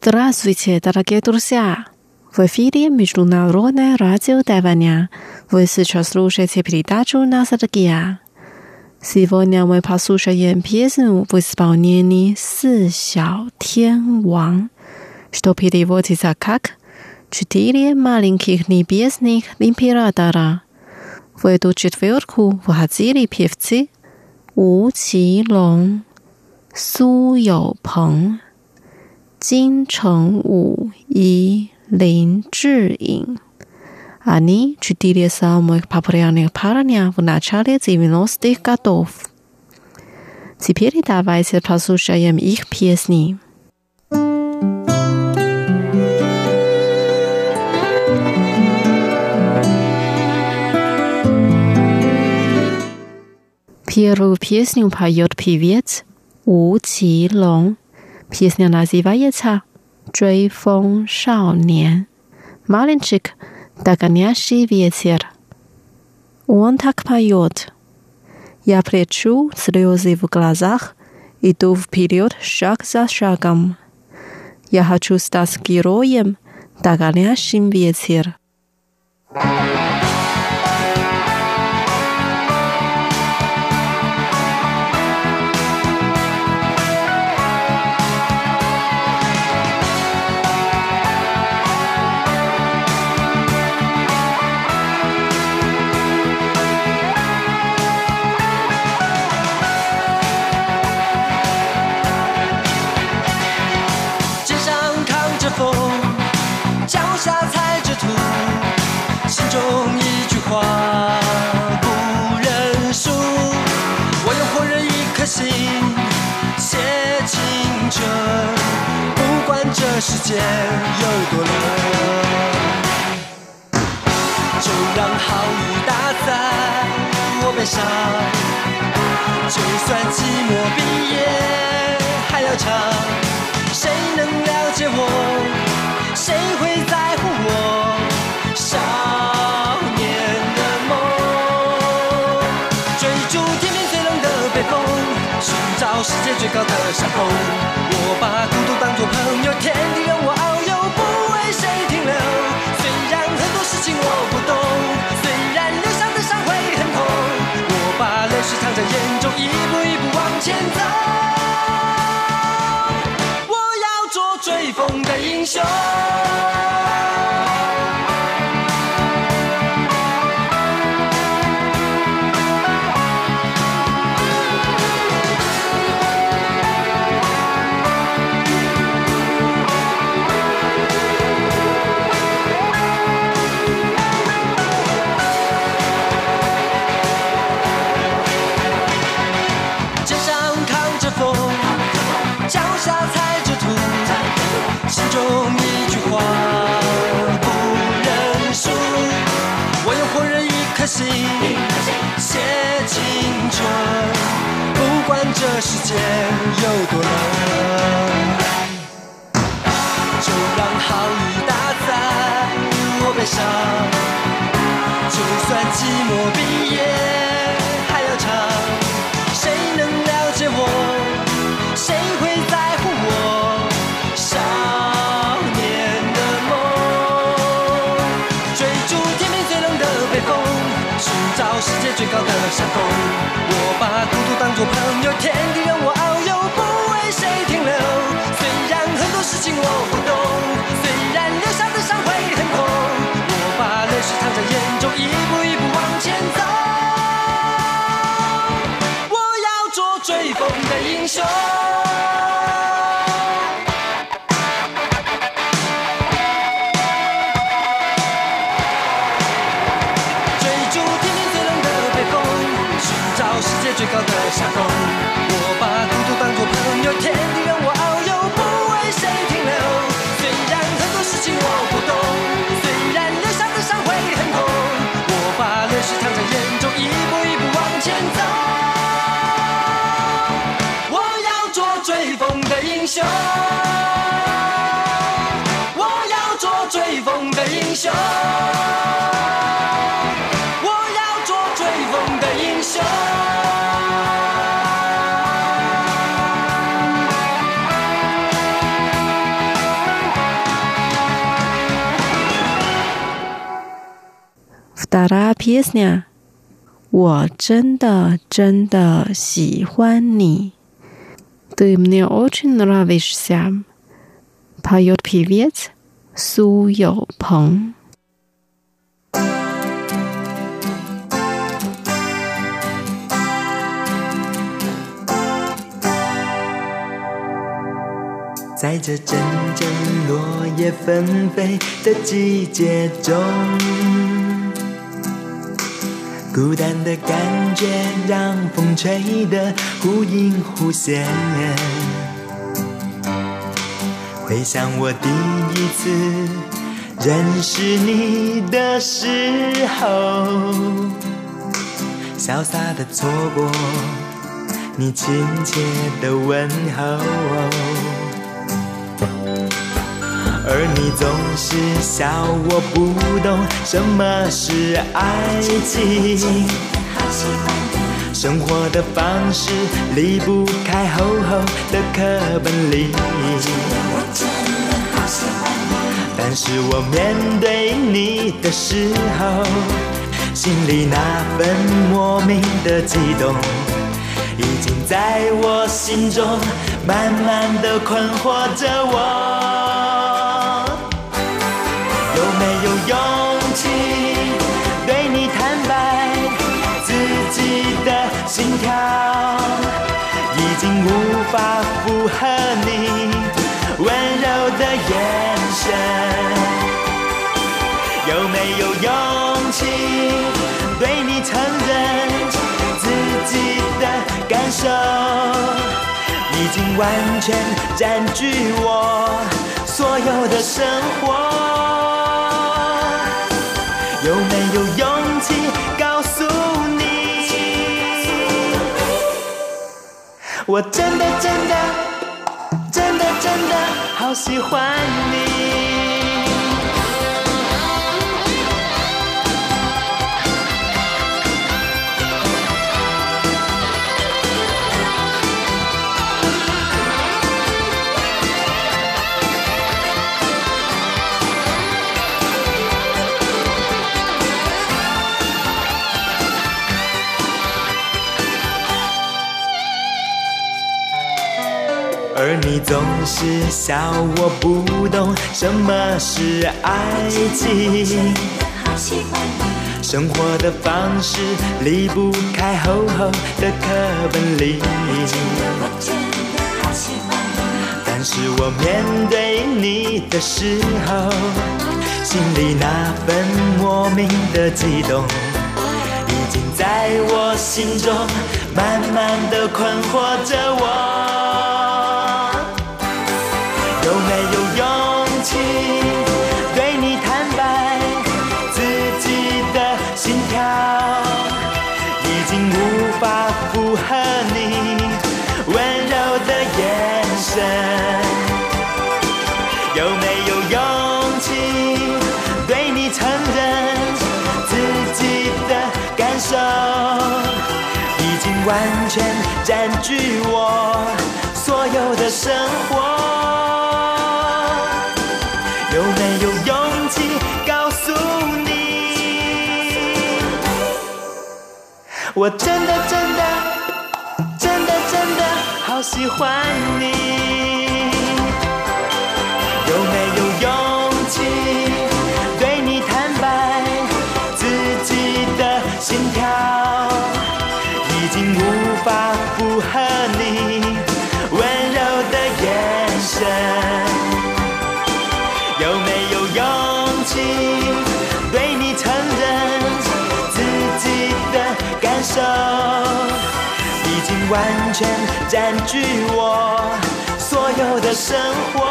Здравствуйте, дорогие друзья! В эфире Международное радио Тайваня. Вы сейчас слушаете передачу «Ностальгия». Сегодня мы послушаем песню в исполнении «Си Сяо Тян Ван», что переводится как «Четыре маленьких небесных императора». В эту четверку входили певцы У Qilong, Су Youpeng, Jin Chengwu и Лин Чжиин. Они четыре самых популярных парня в начале 90-х годов. Теперь давайте послушаем их песни. Первую песню поет певец У Qilong. Песня называется «追风少年». Мальчик, догонящий ветер. Он так поет. Я прячу слезы в глазах, иду вперед шаг за шагом. Я хочу стать героем, догонящим ветер. 写青春，不管这世界有多冷，就让好雨打在我背上，就算寂寞毕业还要唱，谁能了解我，谁会在乎我少年的梦，追逐天边最冷的北风，寻找世界最高的山峰，我把孤独当作朋友，天地任我遨游，不为谁停留。虽然很多事情我不懂，虽然留下的伤会很痛，我把泪水藏在眼中，一步一步往前走。我要做追风的英雄。心中一句话不认输，我用火热一颗心写青春，不管这世界有多冷，就让好雨打在我背上，就算寂寞毕业还要唱，谁能了解我，谁会在乎我少年的梦，追逐天边最冷的北风，寻找世界最高的山峰，我把孤独当作朋友，天地任我遨游，不为谁停留。虽然很多事情我不懂，虽然留下的伤会很痛，我把泪水藏在眼中，一步一步往前走。我要做追风的英雄。最高的山峰，我把孤独当作朋友，天地任我遨游，不为谁停留。虽然很多事情我不懂，虽然留下的伤会很痛，我把泪水藏在眼中，一步一步往前走。我要做追风的英雄，我要做追风的英雄，我要做追风的英雄。 Pjesня 我真的真的喜欢你。Ты мне очень нравишься. Поет певец Су Йоу Пeng。 在这阵阵落叶纷飞的季节中，孤单的感觉让风吹得忽隐忽现。回想我第一次认识你的时候，潇洒的错过你亲切的问候，而你总是笑我不懂什么是爱情，生活的方式离不开厚厚的课本里，但是我面对你的时候，心里那份莫名的激动，已经在我心中慢慢的困惑着我。有没有勇气对你坦白自己的心跳，已经无法符合你温柔的眼神？有没有勇气对你承认自己的感受，已经完全占据我所有的生活？有没有勇气告诉你，我真的真的真的真的好喜欢你。而你总是笑我不懂什么是爱情，生活的方式离不开厚厚的课本里，但是我面对你的时候，心里那份莫名的激动，已经在我心中慢慢的困惑着我。有没有勇气对你坦白自己的心跳，已经无法符合你温柔的眼神？有没有勇气对你承认自己的感受，已经完全占据我所有的生活？有没有勇气告诉你，我真的真的真的真的好喜欢你？有没有勇气对你坦白自己的心跳，已经无法符合你温柔的眼神？有没有勇气对你承认自己的感受，已经完全占据我所有的生活？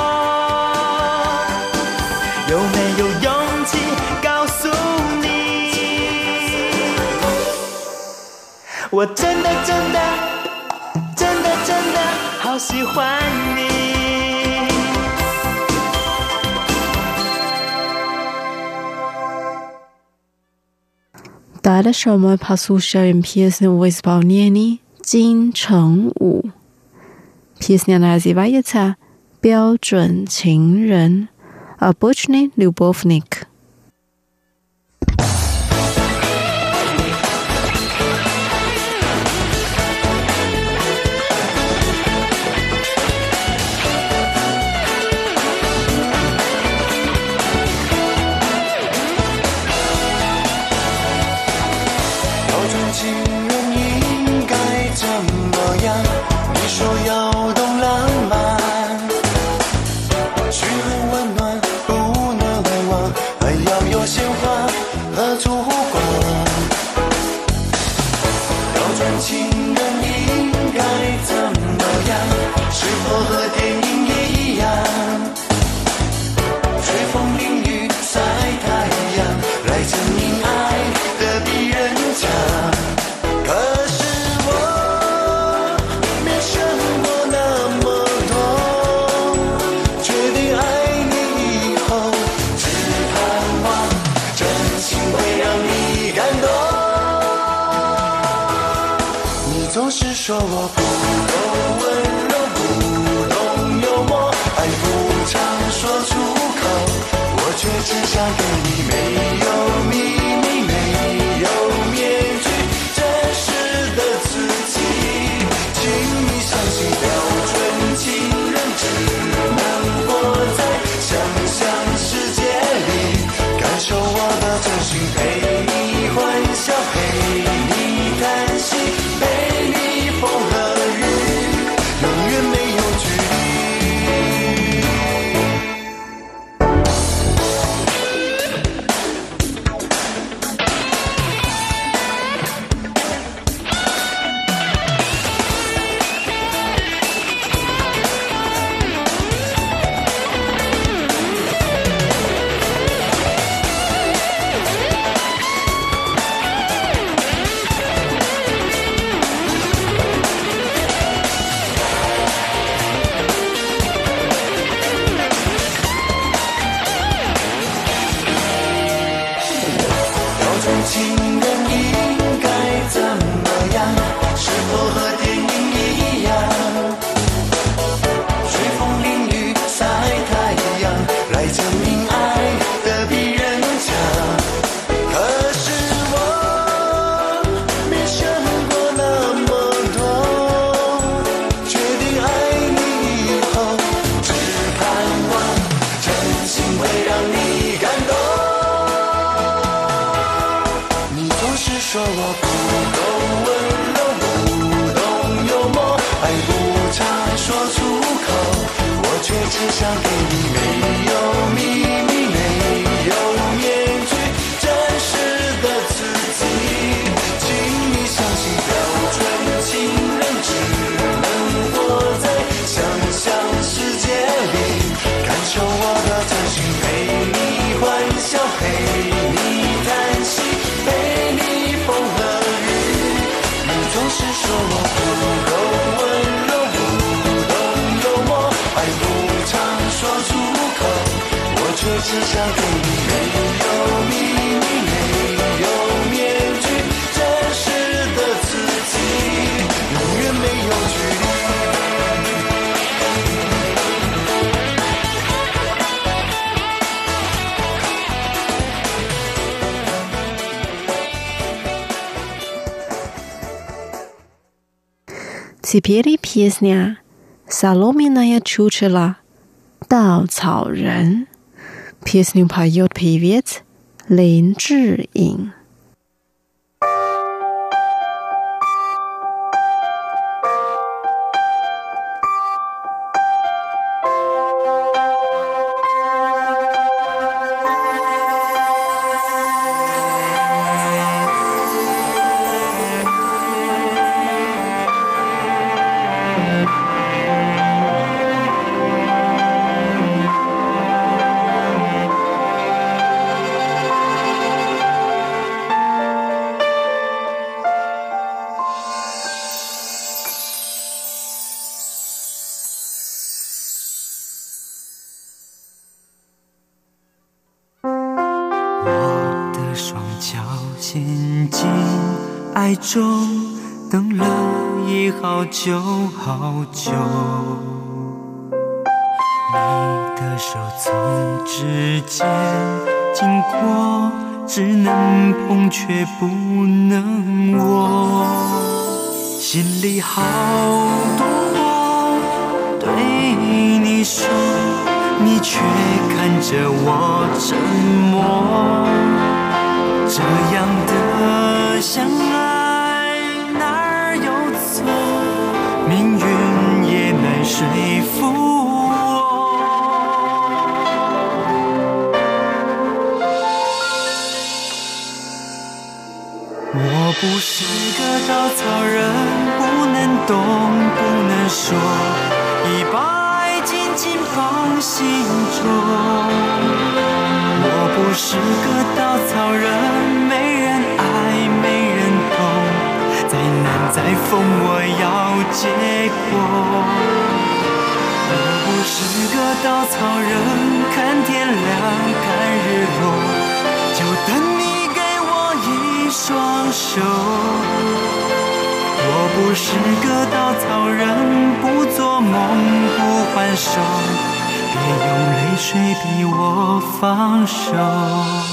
有没有勇气告诉你，我真的真的真的真的好喜欢你？ Дальше мы послушаем песню в исполнении金城武. Песня называется «标准情人» «Обычный любовник». 情人应该怎么样？你说要懂浪漫，嘘寒问暖不能忘，还要有鲜花和烛光。标准情人应该怎么样？是否和电影一样？吹风淋雨晒太阳，来证明爱的比人强。可是我没想过那么多，决定爱你以后，只盼望真心会让你感动。你总是说我不够温柔，不懂幽默，爱不常说出口，我却只想给你没有秘密，没有面具，真实的自己。请你相信，标准情人只能活在想象世界里，感受我的真心，陪你欢笑，陪你叹息，陪你风和雨，永远没有距离。情人应该怎么样？是否和电影一样？吹风淋雨晒太阳，来证明爱的比人强。可是我没想过那么多，决定爱你以后，只盼望真心会让你感动。说我不够温柔，不懂幽默，爱不常说出口，我却只想给你没有秘密，没有面具，真实的自己。请你相信，标准情人只能活在想象世界里，感受我的真心，陪你欢笑，陪你叹息，陪你风和雨。你总是说我不够温柔，不懂幽默，爱不常说出口，我却只想给你没有秘密，没有面具，真实的自己，永远没有距离。 Теперь песня «Соломенное чучело» 稻草人. Песню поет певец Лин Чжиин. 爱中等了已好久好久，你的手从指尖经过，只能碰却不能握，心里好多话对你说，你却看着我沉默，这样的相爱说服我。我不是个稻草人，不能动，不能说，一把紧紧放心中。我不是个稻草人，没人爱，没人懂，再难再疯我要结果。我不是个稻草人，看天亮，看日落，就等你给我一双手。我不是个稻草人，不做梦，不还手，别用泪水逼我放手。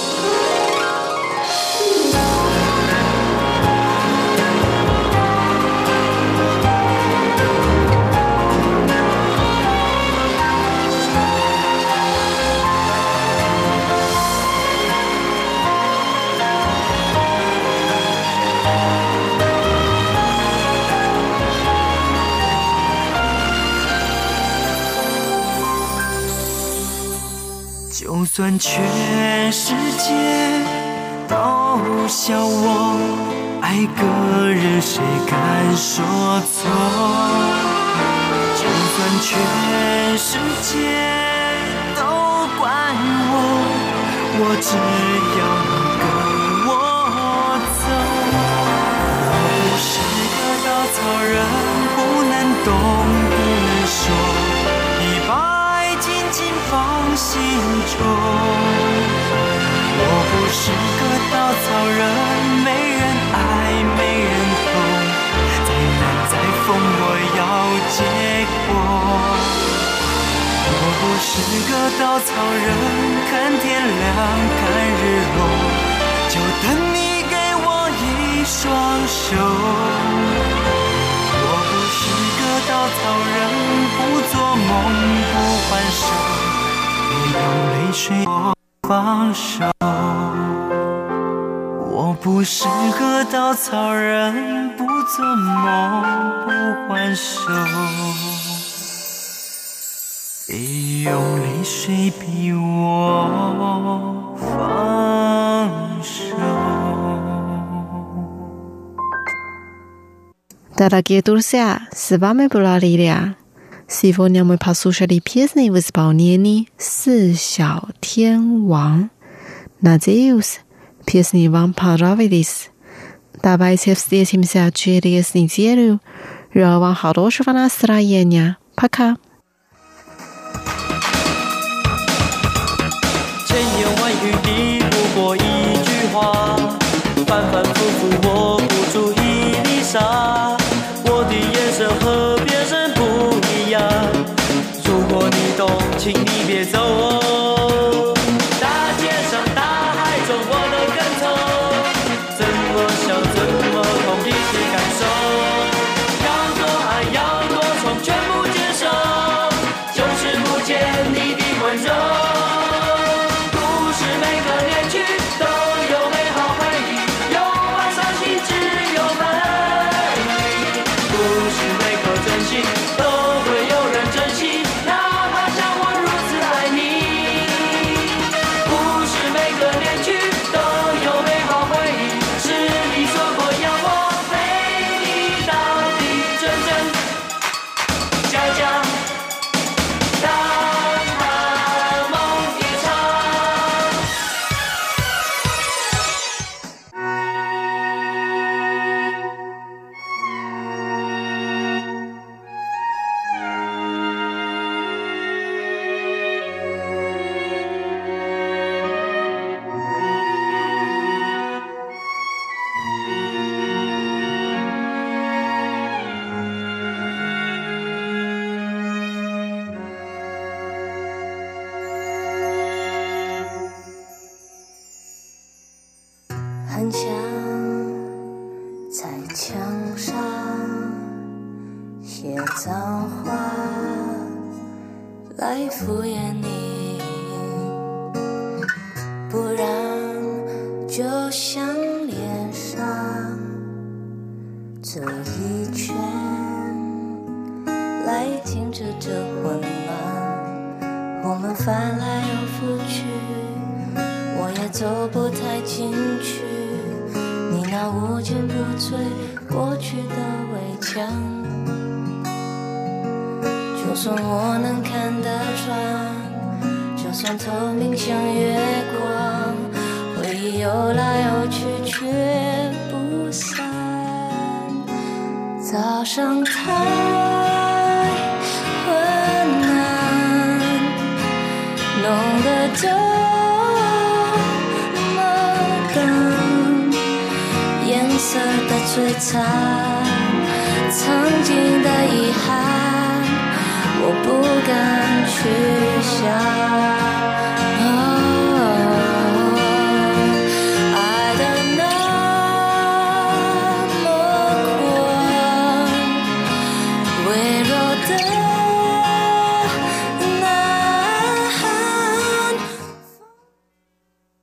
就算全世界都笑我，爱个人谁敢说错？就算全世界都怪我只要你跟我走。我不是个稻草人，不能动，不能说，一把紧紧放心中。我不是个稻草人，没人爱，没人懂，再难再疯我要结果。我不是个稻草人，看天亮，看日落，就等你给我一双手。我不是个稻草人，不做梦，不还手，别用泪水我放手。我不是个稻草人，不做梦，不还手，别用泪水逼我放手。 Дорогие друзья, с вами была Лилия. Сегодня мы послушали песни в исполнении «Си Xiao Tian Wang». Надеюсь, песни вам понравились. Давайте встретимся через неделю. Желаю вам хорошего настроения. Пока. 千言万语抵不过一句话，反反复复我不出一粒沙。我的眼神和别人不一样，如果你懂，请你别走哦。大街上大海中我都跟从，怎么想怎么痛一起感受，要多爱要多宠全部接受，就是不见你的温柔。 很想在墙上写脏话来敷衍你，不然就像脸上这一圈来着这混乱，我们翻来又覆去，我也走不太进去。你那无坚不摧过去的围墙，就算我能看得穿，就算透明像月光，回忆游来游去却不散。早上太昏暗，弄得这么淡，颜色的璀璨，曾经的遗憾，我不敢去想。